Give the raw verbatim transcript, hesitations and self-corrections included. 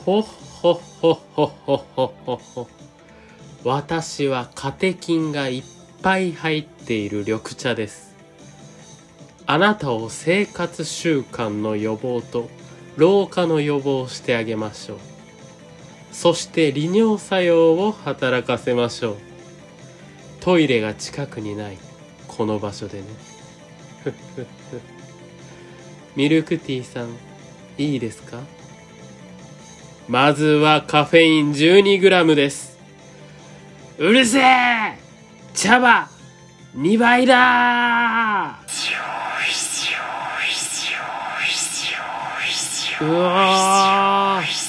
ほっほっほっほっほっほっほっほ。私はカテキンがいっぱい入っている緑茶です。あなたを生活習慣の予防と老化の予防をしてあげましょう。そして利尿作用を働かせましょう。トイレが近くにないこの場所でね。ミルクティーさん、いいですか？まずはカフェイン じゅうにグラム です。うるせえ！茶葉にばいだー！うわー